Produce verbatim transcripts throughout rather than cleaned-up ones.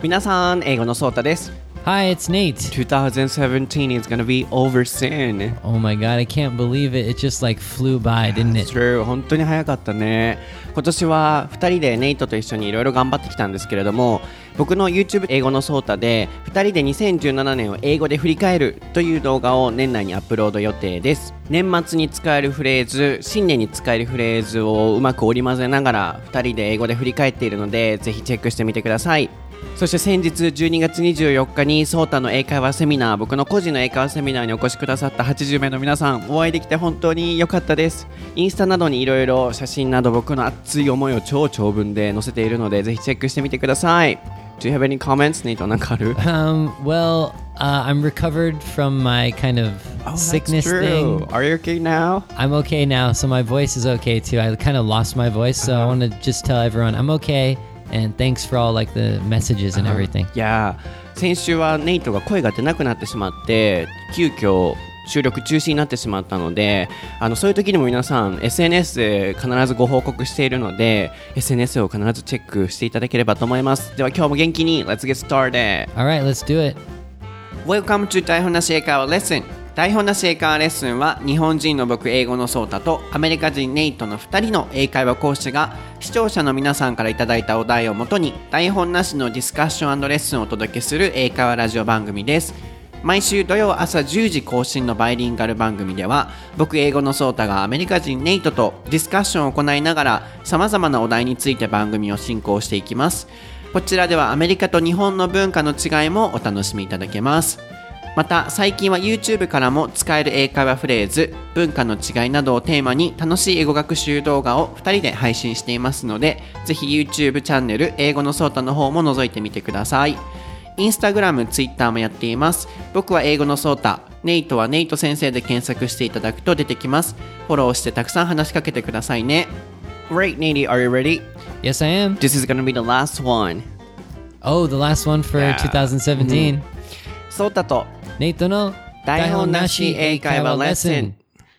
皆さん、英語のソータです。 Hi, it's Nate. twenty seventeen is gonna be over soon. Oh my god, I can't believe it. It just like flew by, didn't it? True. 本当に早かったね。今年はふたりでネイトと一緒にいろいろ頑張ってきたんですけれども、僕の YouTube 英語のソータでふたりでにせんじゅうななねんを英語で振り返るという動画を年内にアップロード予定です。年末に使えるフレーズ、新年に使えるフレーズをうまく織り交ぜながらふたりで英語で振り返っているので、ぜひチェックしてみてください。そして先日じゅうにがつにじゅうよっかにソータの英会話セミナー、僕の個人の英会話セミナーにお越しくださったはちじゅうめいの皆さん、お会いできて本当に良かったです。インスタなどにいろいろ写真など僕の熱い思いを超長文で載せているので、ぜひチェックしてみてください。Do you have any comments, Nate? なんかある? Um, well, uh, I'm recovered from my kind of oh, sickness that's true. thing. Are you okay now? I'm okay now, so my voice is okay too. I kind of lost my voice, so I want to just tell everyone I'm okay.And thanks for all like the messages and everything. Yeah. 先週はネイトが声が出なくなってしまって急遽収録中止になってしまったので、あのそういう時にも皆さん エスエヌエス で必ずご報告しているので エスエヌエス を必ずチェックしていただければと思います。では今日も元気に Let's get started. Alright, let's do it. Welcome to 台本なし英会話レッスン。台本なし英会話レッスンは日本人の僕英語のソータとアメリカ人ネイトのふたりの英会話講師が視聴者の皆さんからいただいたお題をもとに台本なしのディスカッション&レッスンをお届けする英会話ラジオ番組です。毎週土曜朝じゅうじ更新のバイリンガル番組では僕英語のソータがアメリカ人ネイトとディスカッションを行いながら様々なお題について番組を進行していきます。こちらではアメリカと日本の文化の違いもお楽しみいただけます。また最近は YouTube からも使える英会話フレーズ、文化の違いなどをテーマに楽しい英語学習動画をふたりで配信していますので、ぜひ YouTube チャンネル英語のソータの方も覗いてみてください。Instagram、Twitter もやっています。僕は英語のソータ、ネイトはネイト先生で検索していただくと出てきます。フォローしてたくさん話しかけてくださいね。Great, Nate, are you ready? Yes, I am. This is gonna be the last one. Oh, the last one for Yeah. twenty seventeen. ソータとネイトの台本なし英会話レッスン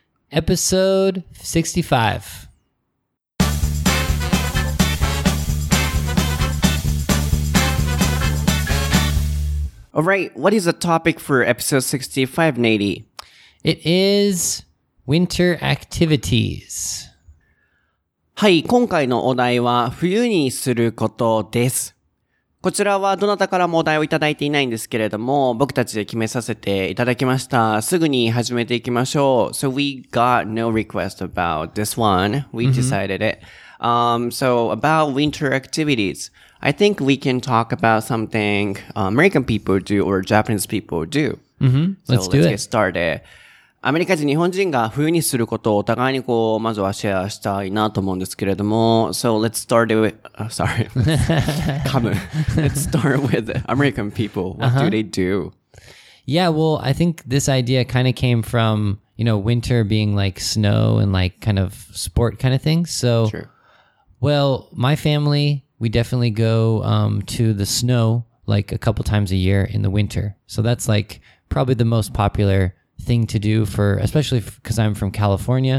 Episode sixty-five. Alright, what is the topic for episode sixty-five, Nate? It is winter activities. はい、今回のお題は冬にすることです。こちらはどなたからもお題をいただいていないんですけれども、僕たちで決めさせていただきました。すぐに始めていきましょう。So we got no request about this one. We decided it. Um, so about winter activities, I think we can talk about something uh, American people do or Japanese people do. Mm-hmm. So Let's do let's it. get started. アメリカ人、日本人が冬にすることをお互いにこう、まずはシェアしたいなと思うんですけれども、So let's start with, uh, sorry, 噛む Let's start with American people. What uh-huh. do they do? Yeah, well, I think this idea kind of came from, you know, winter being like snow and like kind of sport kind of thing. So, True. Well, my family, we definitely go um, to the snow like a couple times a year in the winter. So that's like probably the most popular thing to do for, especially because I'm from California.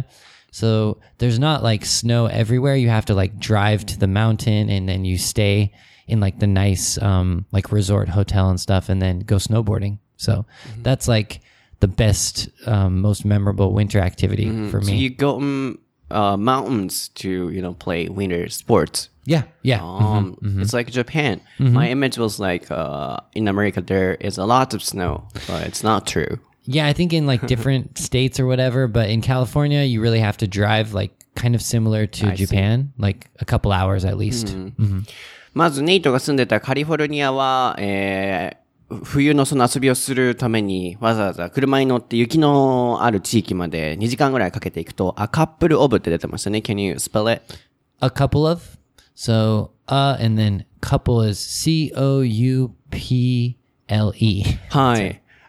So there's not like snow everywhere. You have to like drive to the mountain and then you stay in like the nice um, like resort hotel and stuff and then go snowboarding. So mm-hmm. that's like the best, um, most memorable winter activity mm-hmm. for me. So you go um, uh, mountains to, you know, play winter sports. Yeah, yeah. Um, mm-hmm, mm-hmm. It's like Japan. Mm-hmm. My image was like uh, in America there is a lot of snow, but it's not true. Yeah, I think in like different states or whatever, but in California, you really have to drive like kind of similar to I Japan, see. like a couple hours at least. Mm-hmm. Mm-hmm. まずネイトが住んでたカリフォルニアは、えー、冬のその遊びをするためにわざわざ車に乗って雪のある地域までにじかんぐらいかけていくと、a couple of って出てましたね。Can you spell it? A couple of? So, uh, and then couple is C O U P L E. はい。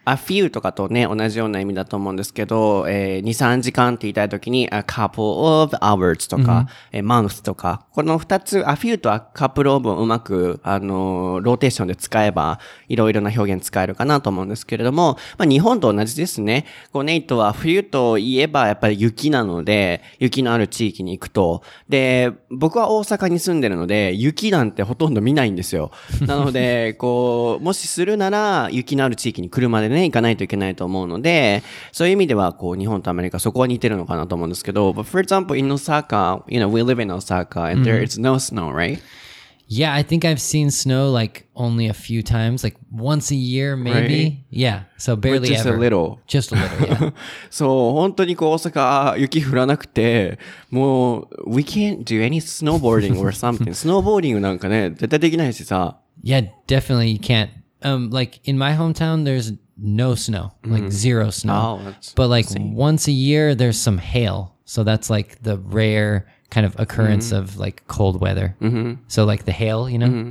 a few とかとね、同じような意味だと思うんですけど、えー、に、さんじかんって言いたいときに a couple of hours とか、えー、month とか、この二つ、a few と a couple of をうまく、あのー、ローテーションで使えば、いろいろな表現使えるかなと思うんですけれども、まあ日本と同じですね。こうネイトは冬といえばやっぱり雪なので、雪のある地域に行くと。で、僕は大阪に住んでるので、雪なんてほとんど見ないんですよ。なので、こう、もしするなら、雪のある地域に車でね、行かないといけないと思うので、そういう意味では、こう、日本とアメリカ、そこは似てるのかなと思うんですけど、but for example, in Osaka, you know, we live in Osaka, and there is no snow, right? Yeah, I think I've seen snow like only a few times, like once a year maybe. Right. Yeah, so barely Just ever. a little. Just a little, yeah. そう、本当にこう大阪雪降らなくて、もう、we can't do any snowboarding or something. スノーボーディングなんかね、絶対できないしさ。 Yeah, definitely you can't. Um, like in my hometown, there's no snow, like zero snow. Oh, that's but like insane. once a year, there's some hail. So that's like the rare kind of occurrence of like cold weather. So like the hail, you know?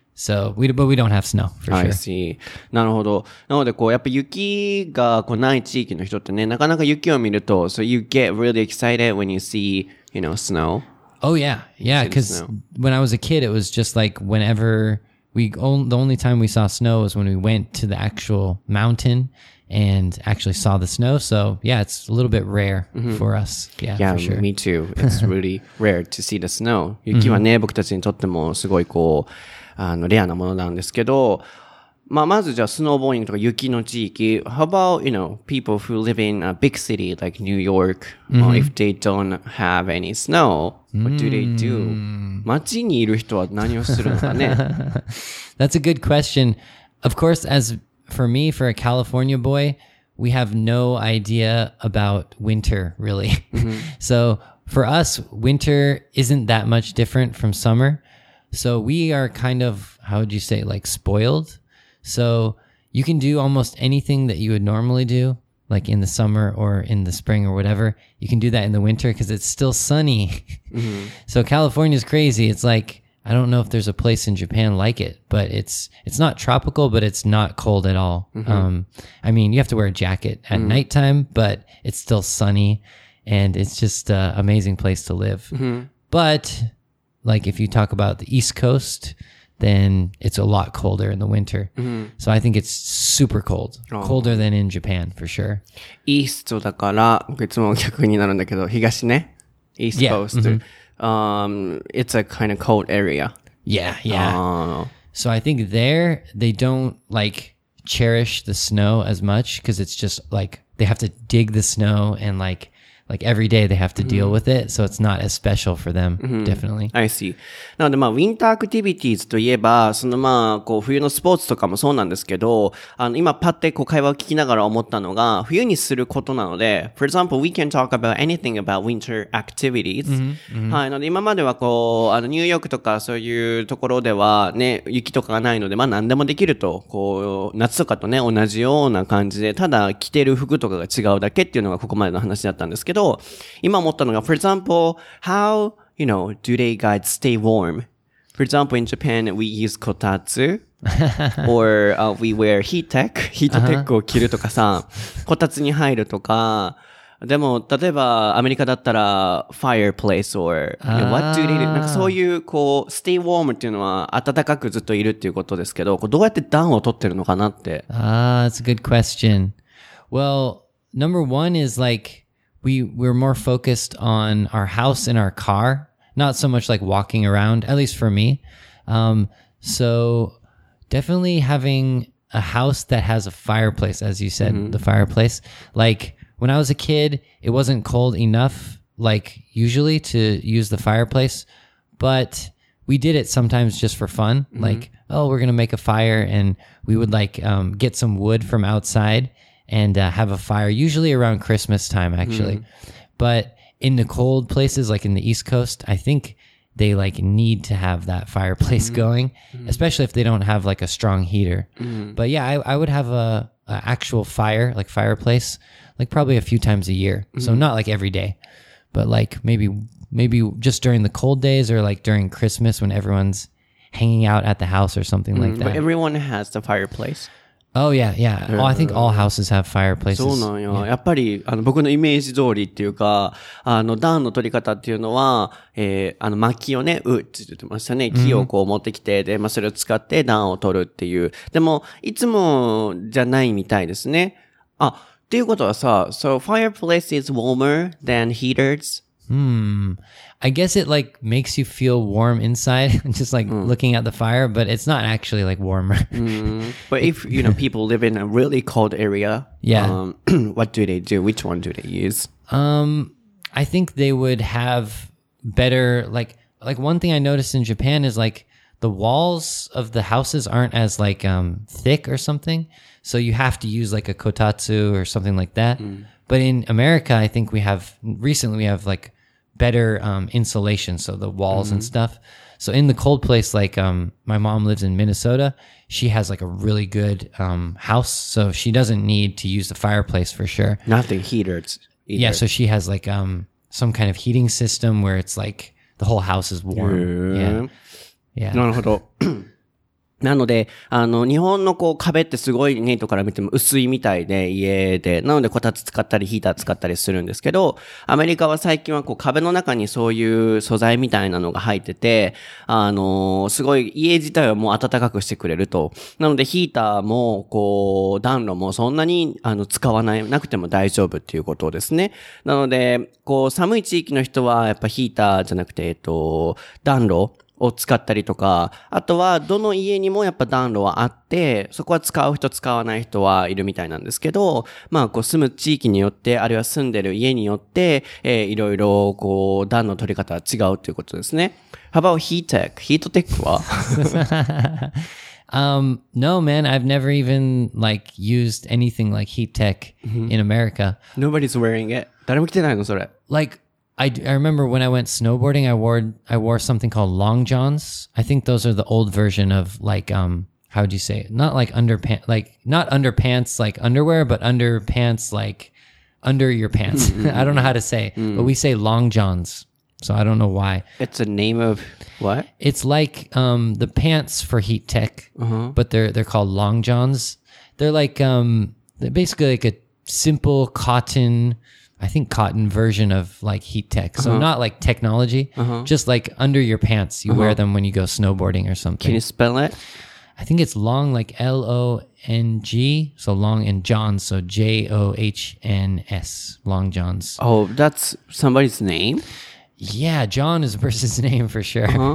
So we, but we don't have snow for I sure. see. なるほど。なので、こう、やっぱ雪がこうない地域の人ってね、なかなか雪を見ると、so you get really excited when you see, you know, snow. Oh yeah. Yeah. See the Cause snow. when I was a kid, it was just like whenever we, on, the only time we saw snow was when we went to the actual mountain and actually saw the snow. So yeah, it's a little bit rare for us. Yeah, Yeah, for sure. me too. It's really rare to see the snow. 雪はね、僕たちにとってもすごいこう、あの、レアなものなんですけど、まあ、まずじゃあ、スノーボーディングとか雪の地域。How about, you know, people who live in a big city like New York, or if they don't have any snow, what do they do? 街にいる人は何をするのかね。 That's a good question. Of course, as for me, for a California boy, we have no idea about winter, really. So for us, winter isn't that much different from summer. So we are kind of, how would you say, like spoiled. So you can do almost anything that you would normally do, like in the summer or in the spring or whatever. You can do that in the winter because it's still sunny. So California is crazy. It's like, I don't know if there's a place in Japan like it, but it's it's not tropical, but it's not cold at all. Um, I mean, you have to wear a jacket at nighttime, but it's still sunny, and it's just an amazing place to live. But like if you talk about the East Coast, then it's a lot colder in the winter. So I think it's super cold, colder than in Japan for sure. イーストだから、いつも逆になるんだけど、東ね。East Yeah. Coast. Um, it's a kind of cold area. Yeah, yeah. Uh, So I think there they don't like cherish the snow as much because it's just like they have to dig the snow and like like every day they have to deal with it. So it's not as special for them, definitely. I see. なのでまあ、ウィンターアクティビティーズといえば、そのまあ、こう、冬のスポーツとかもそうなんですけど、あの、今パッてこう会話を聞きながら思ったのが、冬にすることなので、for example, we can talk about anything about winter activities. はい。なので今まではこう、あの、ニューヨークとかそういうところではね、雪とかがないので、まあ何でもできると、こう、夏とかとね、同じような感じで、ただ着てる服とかが違うだけっていうのがここまでの話だったんですけど、今思ったのが、for example, how, you know, do they guys stay warm? For example, in Japan, we use kotatsu, or、uh, we wear heat tech, ヒートテックを着るとかさ、こたつに入るとか、でも、例えば、アメリカだったら、fireplace or, you know, what do they do? なんかそういう、こう、stay warm っていうのは、暖かくずっといるっていうことですけど、こうどうやって暖を取ってるのかなって。 Ah, that's a good question. Well, number one is like, we we're more focused on our house and our car, not so much like walking around, at least for me. Um, so definitely having a house that has a fireplace, as you said, the fireplace. Like when I was a kid, it wasn't cold enough, like usually to use the fireplace, but we did it sometimes just for fun. Like, oh, we're going to make a fire, and we would like, um, get some wood from outside and uh, have a fire, usually around Christmas time, actually. Mm. But in the cold places, like in the East Coast, I think they like need to have that fireplace mm. going, mm. especially if they don't have like a strong heater. Mm. But yeah, I, I would have a, a actual fire, like fireplace, like probably a few times a year. Mm. So not like every day, but like maybe maybe just during the cold days or like during Christmas when everyone's hanging out at the house or something mm. like that. But everyone has the fireplace. Oh yeah, yeah. Oh, I think all houses have fireplaces. そうなんや。やっぱり、あの、僕のイメージ通りっていうか、あの、暖の取り方っていうのは、えー、あの、薪をね、うって言ってましたね。木をこう持ってきて、で、まあ、それを使って暖を取るっていう。でも、いつもじゃないみたいですね。あ、っていうことはさ、so fireplace is warmer than heaters? Hmm. I guess it like makes you feel warm inside, just like looking at the fire, but it's not actually like warmer. Mm. But if, you know, people live in a really cold area, Yeah. um, what do they do? Which one do they use? Um, I think they would have better like like one thing I noticed in Japan is like the walls of the houses aren't as like um thick or something, so you have to use like a kotatsu or something like that. Mm. But in America, I think we have recently we have like better um, insulation, so the walls mm-hmm. and stuff. So in the cold place, like um, my mom lives in Minnesota, she has like a really good um, house, so she doesn't need to use the fireplace for sure. Nothing heaters. Either. Yeah, so she has like um, some kind of heating system where it's like the whole house is warm. Yeah, yeah. なるほど。なので、あの、日本のこう壁ってすごいネットから見ても薄いみたいで、家で。なので、こたつ使ったりヒーター使ったりするんですけど、アメリカは最近はこう壁の中にそういう素材みたいなのが入ってて、あの、すごい家自体はもう暖かくしてくれると。なので、ヒーターも、こう、暖炉もそんなに、あの、使わない、なくても大丈夫っていうことですね。なので、こう、寒い地域の人は、やっぱヒーターじゃなくて、えっと、暖炉を使ったりとか、あとはどの家にもやっぱ暖炉はあって、そこは使う人使わない人はいるみたいなんですけど、まあこう住む地域によって、あるいは住んでる家によって、えー、いろいろこう暖の取り方は違うということですね。How about heat tech? ヒートテックは um, no, man, I've never even like used anything like heat tech in America. Nobody's wearing it. 誰も着てないのそれ。 Like, I, I remember when I went snowboarding, I wore I wore something called long johns. I think those are the old version of like um how would you say it? Not like underpants, like not underpants like underwear, but underpants like under your pants. I don't know how to say, mm. but we say long johns. So I don't know why. It's a name of what? It's like um the pants for heat tech, uh-huh. but they're they're called long johns. They're like um they're basically like a simple cotton. I think cotton version of like heat tech. So uh-huh. not like technology, uh-huh. just like under your pants. You uh-huh. wear them when you go snowboarding or something. Can you spell it? I think it's long, like L O N G. So long and Johns. So J O H N S. Long Johns. Oh, that's somebody's name? Yeah, John is a person's name for sure. Uh-huh.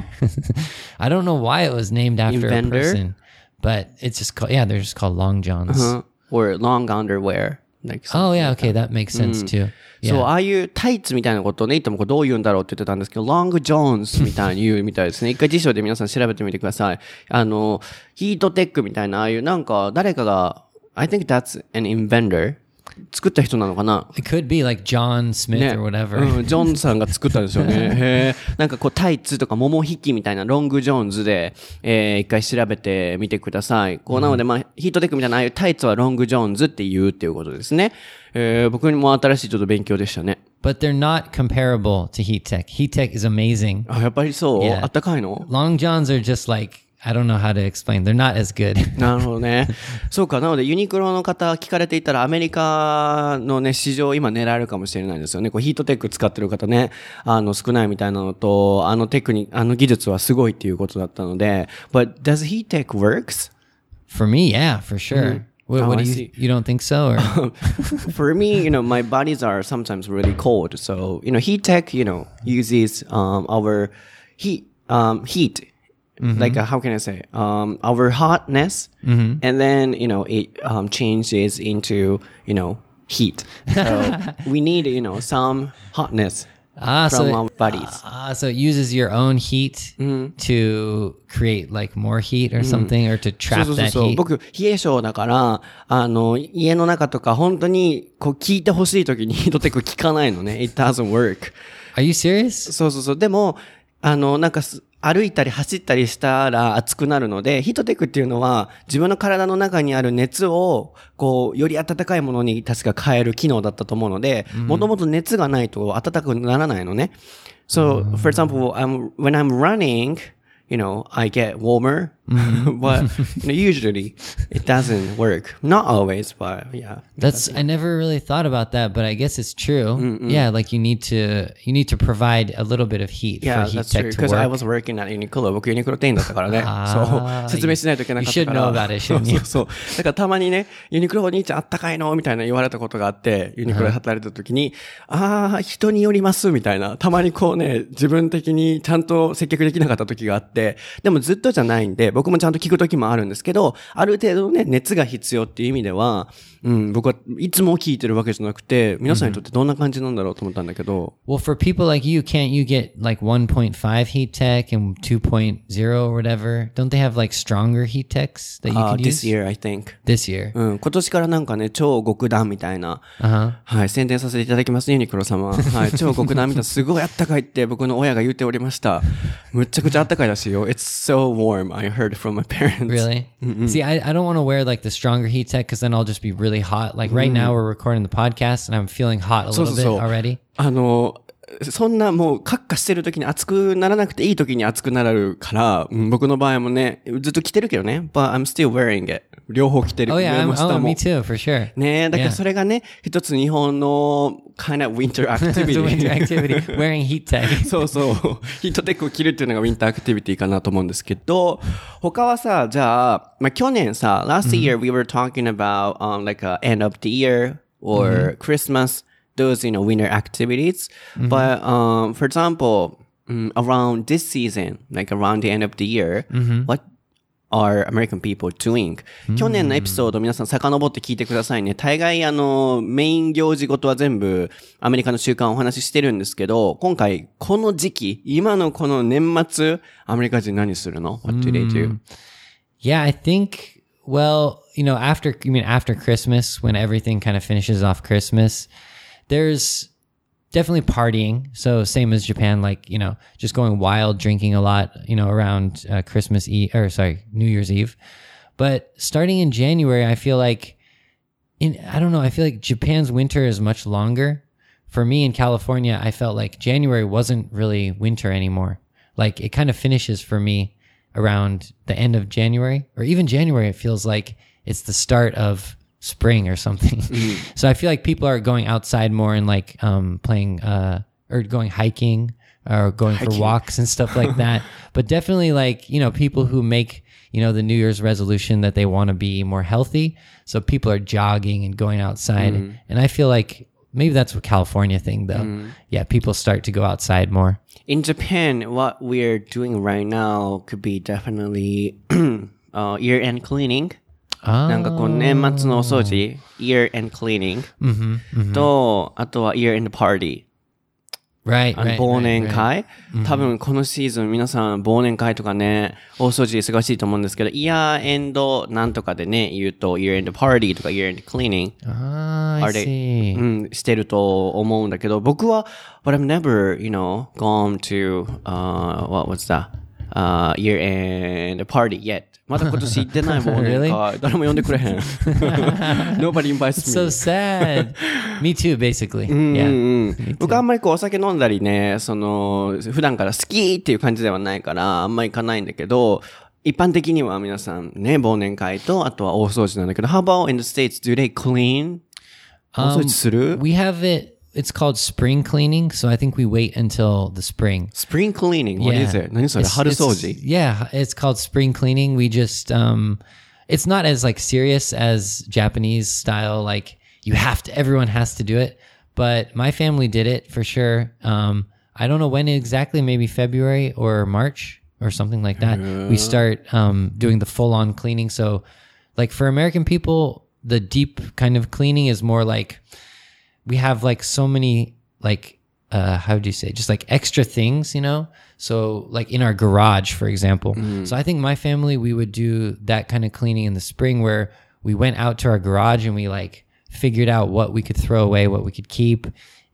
I don't know why it was named after Inventor? a person. But it's just called, yeah, they're just called long Johns. Uh-huh. Or long underwear. Like oh, yeah, okay, that makes sense too. Yeah. そう、ああいうタイツみたいなことをね、いつもこうどう言うんだろうって言ってたんですけど、ロングジョーンズみたいに言うみたいですね。一回辞書で皆さん調べてみてください。あの、ヒートテックみたいな、ああいうなんか誰かが、I think that's an inventor. 作った人なのかな It could be like John Smith、ね、or whatever. うん、ジョンさんが作ったんですよね。へーなんかこうタイツとか桃引きみたいなロングジョーンズで、えー、一回調べてみてください。こうなので、まあ、ヒートテックみたいなああいうタイツはロングジョーンズって言うっていうことですね。えー、僕にも新しいちょっと勉強でしたね。 But they're not comparable to heat tech. Heat tech is amazing. あ、やっぱりそう、yeah. あったかいの Long Johns are just like, I don't know how to explain. They're not as good. なるほどね。そうか。なのでユニクロの方聞かれていたらアメリカのね、市場今狙えるかもしれないですよね。こうヒートテック使ってる方ね、あの少ないみたいなのと、あのテクニあの技術はすごいっていうことだったので。But does heat tech works? For me, yeah, for sure.、Mm.What, oh, what I do you, see. you don't think so? Or? For me, you know, my bodies are sometimes really cold. So, you know, heat tech, you know, uses um, our heat, um, heat.Mm-hmm. Like, uh, how can I say, um, our hotness, mm-hmm. and then, you know, it, um, changes into, you know, heat. So we need, you know, some hotness ah, from so, our bodies. Ah, so it uses your own heat、mm-hmm. to create like more heat or something、mm-hmm. or to trap そうそうそう that heat. 僕、冷え性だから、あの、家の中とか本当に、こう、効いてほしい時にヒートテック効かないのね。It doesn't work. Are you serious? そうそうそう。でも、あの、なんか歩いたり走ったりしたら熱くなるので、ヒートテックっていうのは自分の体の中にある熱をこうより温かいものに確か変える機能だったと思うので、もともと熱がないと温かくならないのね。So, for example, I'm, when I'm running, you know, I get warmer Mm-hmm. but you know, usually it doesn't work. Not always, but yeah. That's I never really thought about that, but I guess it's true. Mm-mm. Yeah, like you need to you need to provide a little bit of heat yeah, for heat that's tech true. to Because work. I was working at Uniqlo. 僕ユニクロ店員だったからね。そう説明しないといけなかったから。 You should know about it, そう shouldn't そ you? うそう。だからたまにね、ユニクロお兄ちゃんあったかいのみたいな言われたことがあって、ユニクロで働いてた時に、ああ、人によりますみたいな。たまにこうね、自分的にちゃんと接客できなかった時があって、でもずっとじゃないんで、僕もちゃんと聞く時もあるんですけど、ある程度ね、熱が必要っていう意味では、うん、僕はいつも聞いてるわけじゃなくて、皆さんにとってどんな感じなんだろうと思ったんだけど。 Well, for people like you, can't you get like one point five heat tech and two point oh or whatever? Don't they have like stronger heat techs that you uh, could this use? year, I think. This year. うん、今年からなんかね、超極暖みたいな、 uh-huh. はい、宣伝させていただきますね、ユニクロ様。はい、超極暖みたいな、すごいあったかいって僕の親が言っておりました。むっちゃくちゃあったかいらしいよ。It's so warm, I heard from my parents. Really? See, I, I don't want to wear like the stronger heat tech because then I'll just be really hot. Like right now we're recording the podcast and I'm feeling hot a little bit already. あの、そんなもう、カッカしてる時に暑くならなくていい時に暑くなるから、うん、僕の場合もね、ずっと着てるけどね。But I'm still wearing it. 両方着てる。 Oh yeah, I'm, 上も下も oh, me too, for sure. ねえ、だからそれがね、一つ日本の kind of winter activity. winter activity. Wearing heat tech. そうそう。ヒートテックを着るっていうのがウィンターアクティビティかなと思うんですけど、他はさ、じゃあ、まあ、去年さ、last year we were talking about, um, like a end of the year or Christmas.Those, you know, winter activities. Mm-hmm. But, um, for example, um, around this season, like around the end of the year, mm-hmm. what are American people doing? 去年のエピソード皆さん遡って聞いてくださいね。大概あの、メイン行事ごとは全部アメリカの習慣をお話ししてるんですけど、今回この時期、今のこの年末、アメリカ人何するの？ What do they do? Yeah, I think, well, you know, after, you mean after Christmas, when everything kind of finishes off Christmas,There's definitely partying. So same as Japan, like, you know, just going wild, drinking a lot, you know, around uh, Christmas Eve, or sorry, New Year's Eve. But starting in January, I feel like in, I don't know, I feel like Japan's winter is much longer. For me in California, I felt like January wasn't really winter anymore. Like it kind of finishes for me around the end of January, or even January. It feels like it's the start of spring or something. Mm. So I feel like people are going outside more and like um playing uh or going hiking or going hiking. for walks and stuff like that. But definitely like, you know, people who make, you know, the New Year's resolution that they want to be more healthy. So people are jogging and going outside. Mm. And I feel like maybe that's a California thing though. Mm. Yeah, people start to go outside more. In Japan, what we're doing right now could be definitely uh year-end cleaning.なんかこう年末のお掃除、year-end cleaning、mm-hmm, mm-hmm. と、あとは year-end party。Right, あの忘年会、right, right. 多分このシーズン皆さん忘年会とかね、大掃除忙しいと思うんですけど、year-end なんとかでね、言うと year-end party とか year-end cleaning。 ああ、I see。 うん、してると思うんだけど、僕は、but I've never, you know, gone to,、uh, what was that?、Uh, year-end party yet.まだ今年行ってないもんね。really? 誰も呼んでくれへん。Nobody invites me. So sad. Me too, basically. うんうん、yeah. 僕あんまりこうお酒飲んだりね、その、普段から好きっていう感じではないから、あんまり行かないんだけど、一般的には皆さんね、忘年会と、あとは大掃除なんだけど、How about in the States? Do they clean? 大掃除する？ um, We have it.It's called spring cleaning, so I think we wait until the spring. Spring cleaning? What yeah. is it? 何それ？春掃除？ Yeah, it's called spring cleaning. We just, um, it's not as like serious as Japanese style, like you have to, everyone has to do it. But my family did it for sure. Um, I don't know when exactly, maybe February or March or something like that. Uh. We start um, doing the full on cleaning. So like for American people, the deep kind of cleaning is more like,we have like so many like uh how do you say just like extra things, you know, so like in our garage for example. mm. So I think my family, we would do that kind of cleaning in the spring where we went out to our garage and we like figured out what we could throw away, what we could keep,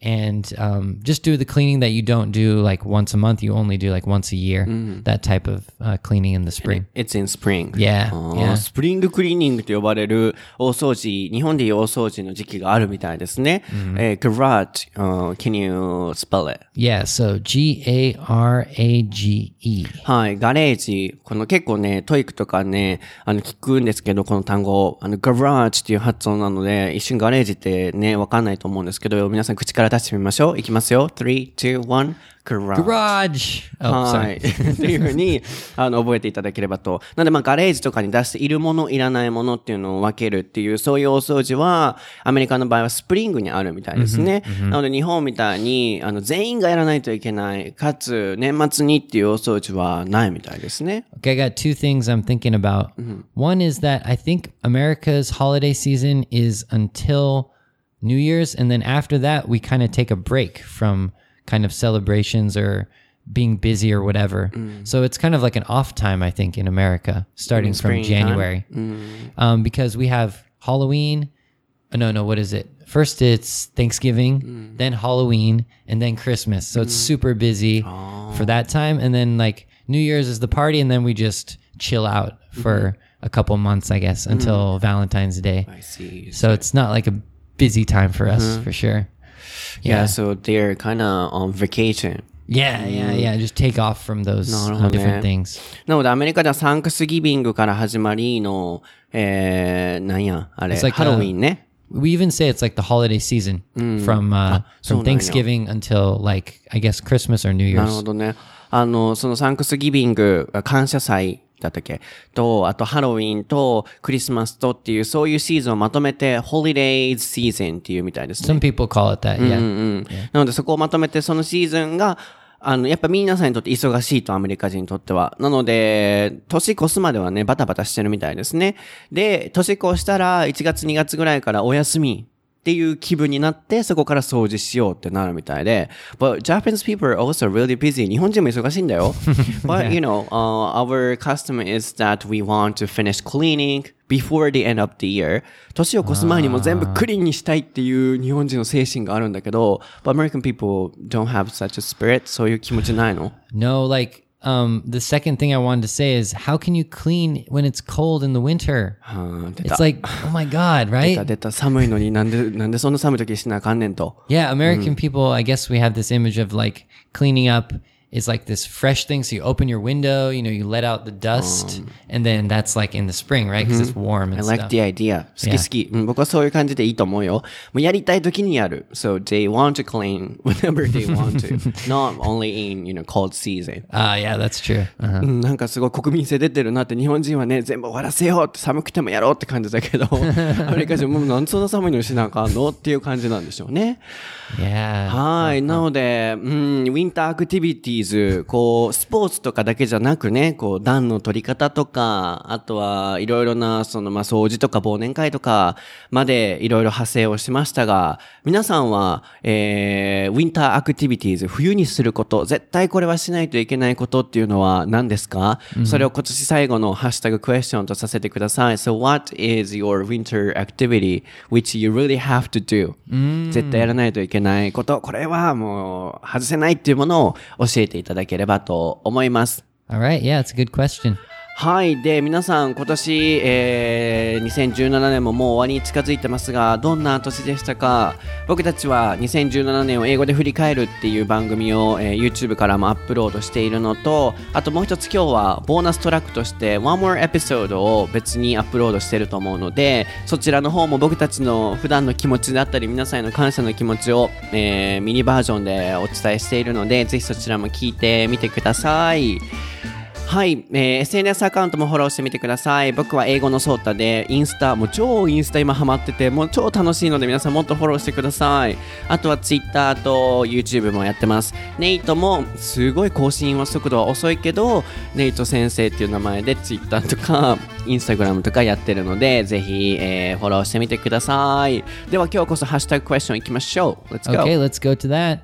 and um, just do the cleaning that you don't do like once a month. You only do like once a year. That type of uh, cleaning in the spring. It's in spring. Yeah, あー yeah. スプリングクリーニングと呼ばれる大掃除、日本でいう大掃除の時期があるみたいですね。えー garage, uh, can you spell it? Yeah, so G A R A G E. はい、ガレージ。この結構ね、トイックとかね、あの聞くんですけど、この単語、あの、garage っていう発音なので、一瞬ガレージってね、わかんないと思うんですけど、皆さん口から出してみましょう。いきますよ。three, two, one, garage. Garage! Oh, は sorry. い。っていうふうに、あの、覚えていただければと。なので、まあ、ガレージとかに出しているもの、いらないものっていうのを分けるっていう、そういう大掃除は、アメリカの場合はスプリングにあるみたいですね。なので、日本みたいに、あの、全員がやらないといけない、かつ、年末にっていう大掃除はないみたいですね。 Okay, I got two things I'm thinking about. One is that I think America's holiday season is until New Year's, and then after that, we kind of take a break from kind of celebrations or being busy or whatever. So it's kind of like an off time, I think, in America, starting from January. Um, because we have Halloween. Oh, no, no, what is it? First it's Thanksgiving, then Halloween, and then Christmas. So it's super busy for that time. And then like New Year's is the party, and then we just chill out for a couple months, I guess, until Valentine's Day. I see. So it's not like a busy time for us, for sure. Yeah, so they're kind of on vacation. Yeah, yeah, yeah. Just take off from those uh, different things. なので、アメリカではサンクスギビングから始まりの、えー、なんや、あれ、 It's like ハロウィンね。 We even say it's like the holiday season from uh, from Thanksgiving until like I guess Christmas or New なる Year's. ほどね。あの、そのサンクスギビング、感謝祭だったっけと、あとハロウィンとクリスマスとっていう、そういうシーズンをまとめて、Holidays Season っていうみたいですね。 Some people call it that, yeah. うんうん。なのでそこをまとめて、そのシーズンが、あの、やっぱ皆さんにとって忙しいと、アメリカ人にとっては。なので、年越すまではね、バタバタしてるみたいですね。で、年越したら、いちがつにがつぐらいからお休みっていう気分になって、そこから掃除しようってなるみたいで。But Japanese people are also really busy. 日本人も忙しいんだよ。But, you know, uh, our custom is that we want to finish cleaning before the end of the year. 年を越す前にも全部クリーンにしたいっていう日本人の精神があるんだけど、But American people don't have such a spirit. そういう気持ちないの？ No, like um, the second thing I wanted to say is how can you clean when it's cold in the winter? はあ、出た。 It's like, oh my God, 出 right? た出た。寒いのになんで、なんでそんな寒い時しなあかんねんと。 Yeah, American people, I guess we have this image of like cleaning up is like this fresh thing. So you open your window, you know, you let out the dust, and then that's like in the spring, right? Because it's warm and I like stuff. the idea. 好き好き、うん。僕はそういう感じでいいと思うよ。もうやりたい時にやる。So they want to clean whenever they want to. Not only in, you know, cold season. Ah, yeah, that's true. Uh-huh. うんなんかすごい国民性出てるなって、日本人はね、全部終わらせようって、寒くてもやろうって感じだけど、アメリカ人もなんでそんな寒いのにしなあかんのっていう感じなんでしょうね。 Yeah. はい。なので、うん、ウィンターアクティビティーズ、こう、スポーツとかだけじゃなくね、こう、暖の取り方とか、あとはいろいろな、その、まあ、掃除とか忘年会とかまでいろいろ派生をしましたが、皆さんは、えー、ウィンターアクティビティーズ、冬にすること、絶対これはしないといけないことっていうのは何ですか？うん、それを今年最後のハッシュタグクエスチョンとさせてください。So what is your winter activity which you really have to do？、うん、絶対やらないといけないこと、これはもう外せないっていうものを教えていただければと思います。 All right, yeah, it's a good question. はい。で、皆さん今年、えー、にせんじゅうななねんももう終わりに近づいてますが、どんな年でしたか？僕たちはにせんじゅうななねんを英語で振り返るっていう番組を、えー、YouTube からもアップロードしているのと、あともう一つ今日はボーナストラックとして One More Episode を別にアップロードしてると思うので、そちらの方も僕たちの普段の気持ちだったり、皆さんへの感謝の気持ちを、えー、ミニバージョンでお伝えしているので、ぜひそちらも聞いてみてください。はい、えー、エスエヌエス アカウントもフォローしてみてください。僕は英語のソータで、インスタ、もう超インスタ今ハマってて、もう超楽しいので皆さんもっとフォローしてください。あとは Twitter と YouTube もやってます。ネイトもすごい更新は速度は遅いけど、ネイト先生っていう名前で Twitter とか Instagram とかやってるので、ぜひ、えー、フォローしてみてください。では今日こそハッシュタグクエスチョンいきましょう。Let's go! Okay, let's go to that.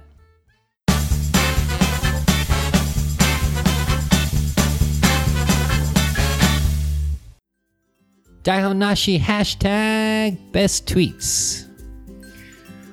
Daihonashi hashtag best tweets.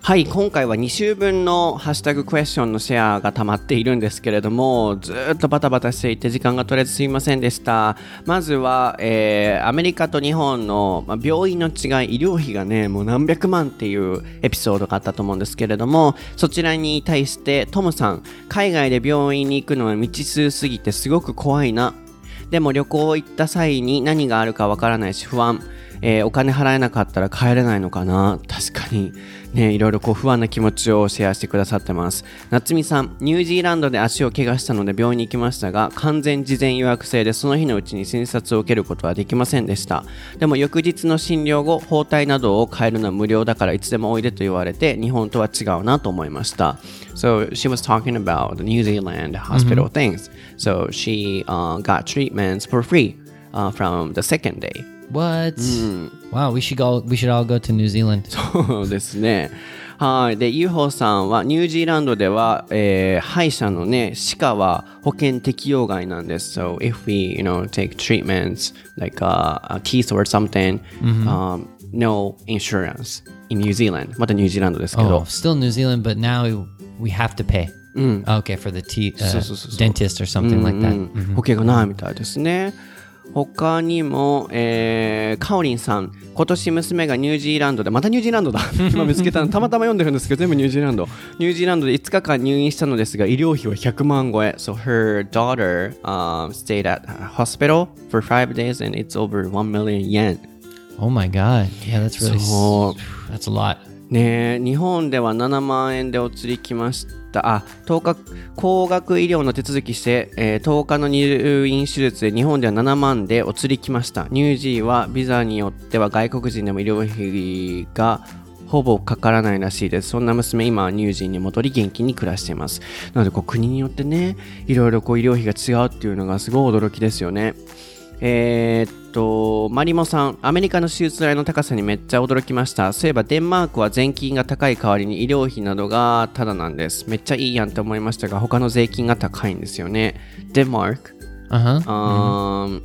はい、今回はに週分のハッシュタグクエスチョンのシェアが溜まっているんですけれども、ずっとバタバタしていて時間が取れずすいませんでした。まずは、えー、アメリカと日本の、まあ、病院の違い、医療費がね、もう何百万っていうエピソードがあったと思うんですけれども、そちらに対してトムさん、海外で病院に行くのは未知数すぎてすごく怖いな。でも旅行行った際に何があるかわからないし不安。えー、お金払えなかったら帰れないのかな。確かにね、いろいろこう不安な気持ちをシェアしてくださってます。夏美さん、ニュージーランドで足を怪我したので病院に行きましたが、完全事前予約制でその日のうちに診察を受けることはできませんでした。でも翌日の診療後、包帯などを変えるのは無料だからいつでもおいでと言われて、日本とは違うなと思いました。So she was talking about the New Zealand hospital、mm-hmm. things. So she、uh, got treatments for free、uh, from the second day.What? うん、wow, we should go, we should all go to New Zealand. そうですね。はい。で、ユーホーさんはニュージーランドでは、えー、歯医者のね、歯科は保険適用外なんです。So if we, you know, take treatments like、uh, a teeth or something,、mm-hmm. um, no insurance in New Zealand. またニュージーランドですけど。 Oh, still New Zealand, but now we have to pay. うん、okay, for the teeth,、uh, dentist or something、うん、like that、うんうん、保険がないみたいですね。他にも、えー、カオリンさん、今年娘がニュージーランドで、またニュージーランドだ今見つけたのたまたま読んでるんですけど、全部ニュージーランドニュージーランドでいつかかん入院したのですが、医療費はひゃくまん超え。 So her daughter、um, stayed at a hospital for five days and it's over one million yen. Oh my god. Yeah, that's really so, that's a lot. ねえ、日本ではななまんえんでお釣り来ました。あ、とおか高額医療の手続きして、えー、とおかの入院手術で日本ではななまんでお釣り来ました。ニュージーはビザによっては外国人でも医療費がほぼかからないらしいです。そんな娘、今はニュージーに戻り元気に暮らしています。なのでこう国によってね、いろいろこう医療費が違うっていうのがすごい驚きですよね。えー、っとマリモさん、アメリカの手術代の高さにめっちゃ驚きました。そういえばデンマークは税金が高い代わりに医療費などがタダなんです。めっちゃいいやんって思いましたが、他の税金が高いんですよね。デンマーク、 uh-huh. um,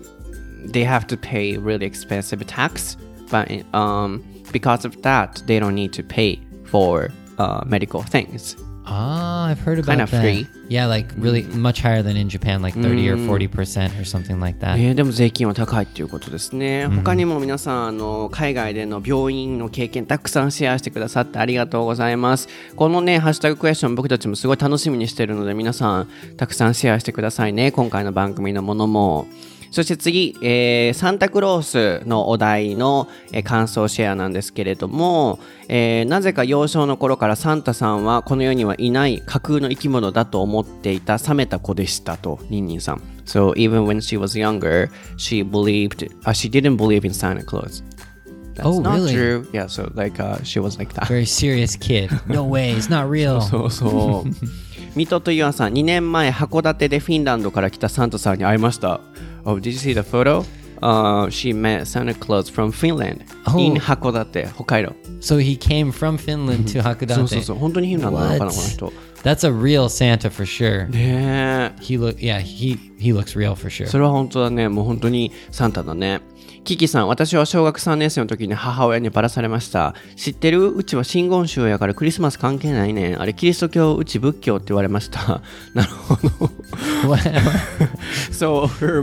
they have to pay really expensive tax, but um, because of that, they don't need to pay for、uh, medical things.Ah, I've heard about kind of that. Free. Yeah, like really much higher than in Japan, like thirty or forty percent or something like that. えー、でも税金は高いっていうことですね。他にも皆さん、あの海外での病院の経験たくさんシェアしてくださってありがとうございます。このね、ハッシュタグクエスチョン僕たちもすごい楽しみにしてるので、皆さんたくさんシェアしてくださいね。今回の番組のものも。そして次、えー、サンタクロースのお題の、えー、感想シェアなんですけれども、えー、なぜか幼少の頃からサンタさんはこの世にはいない架空の生き物だと思っていた冷めた子でしたと、ニンニンさん。So even when she was younger, she believed,、uh, she didn't believe in Santa Claus.That's oh, not really? true. Yeah, so like、uh, she was like that. Very serious kid. No way, it's not real. そうそう。ミトとユアさん、にねんまえ函館でフィンランドから来たサンタさんに会いました。Oh, did you see the photo?、Uh, she met Santa Claus from Finland、oh. in 函館、北海道。 So he came from Finland to 函館。 そうそうそう、本当にフィンランドなのかな、この人。 That's a real Santa for sure. ねえ。 He look, yeah, he he looks real for sure. それは本当だね。もう本当にサンタだね。キキさん、私は小学さんねん生の時に母親にバラされました。知ってる？うちは真言宗やからクリスマス関係ないねん。あれキリスト教、うち仏教って言われました。なるほど。So her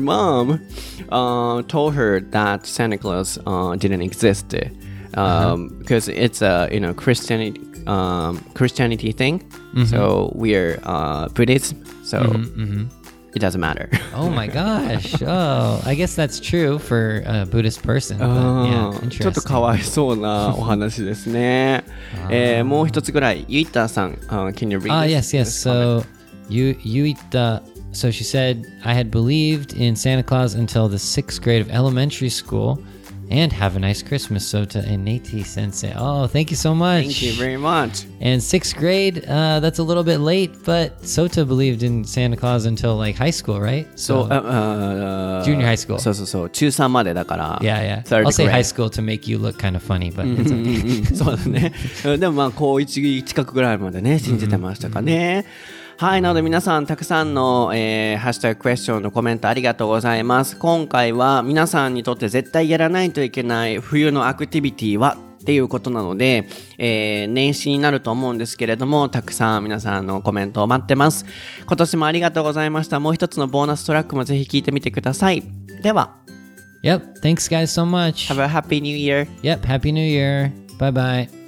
mom、uh, told her that Santa Claus、uh, didn't exist、um, because it's a you know Christianity、um, Christianity thing.、Mm-hmm. So we're、uh, Buddhism. So.、Mm-hmm, mm-hmm.It doesn't matter. Oh my gosh. Oh, I guess that's true for a Buddhist person. But, yeah, interesting. ちょっとかわいそうなお話ですね。えー、もう一つぐらい、ユイタさん、uh, can you read Ah, this? yes, yes. So, Yu Yuita, so she said, I had believed in Santa Claus until the sixth grade of elementary school.And have a nice Christmas, Sota and Nate Sensei. Oh, thank you so much. Thank you very much. And sixth grade, uh, that's a little bit late, but Sota believed in Santa Claus until like high school, right? So, uh, uh, junior high school. そうそうそう、中さんまでだから。 Yeah, yeah. I'll say high school to make you look kind of funny, but it's okay. そうだね。でもまあ、高一近くぐらいまでね、信じてましたかね。はい、なので皆さんたくさんの、えー、ハッシュタグクエスチョンのコメントありがとうございます。今回は皆さんにとって絶対やらないといけない冬のアクティビティはっっていうことなので、えー、年始になると思うんですけれども、たくさん皆さんのコメントを待ってます。今年もありがとうございました。もう一つのボーナストラックもぜひ聞いてみてください。では。 Yep, thanks guys so much. Have a happy new year. Yep, happy new year. Bye bye.